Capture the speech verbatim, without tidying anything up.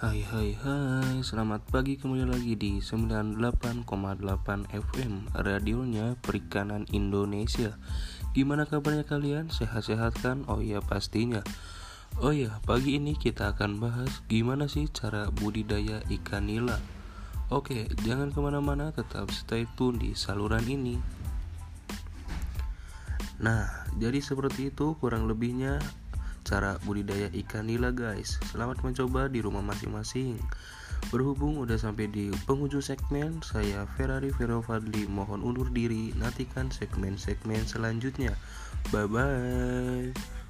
Hai hai hai, selamat pagi kembali lagi di sembilan puluh delapan koma delapan F M, radionya Perikanan Indonesia. Gimana kabarnya kalian? Sehat-sehat kan? Oh iya pastinya. Oh iya, pagi ini kita akan bahas gimana sih cara budidaya ikan nila. Oke, jangan kemana-mana, tetap stay tune di saluran ini. Nah, jadi seperti itu kurang lebihnya cara budidaya ikan nila guys. Selamat mencoba di rumah masing-masing. Berhubung udah sampai di penghujung segmen, saya Ferrari Vero Fadli mohon undur diri. Nantikan segmen-segmen selanjutnya. Bye bye.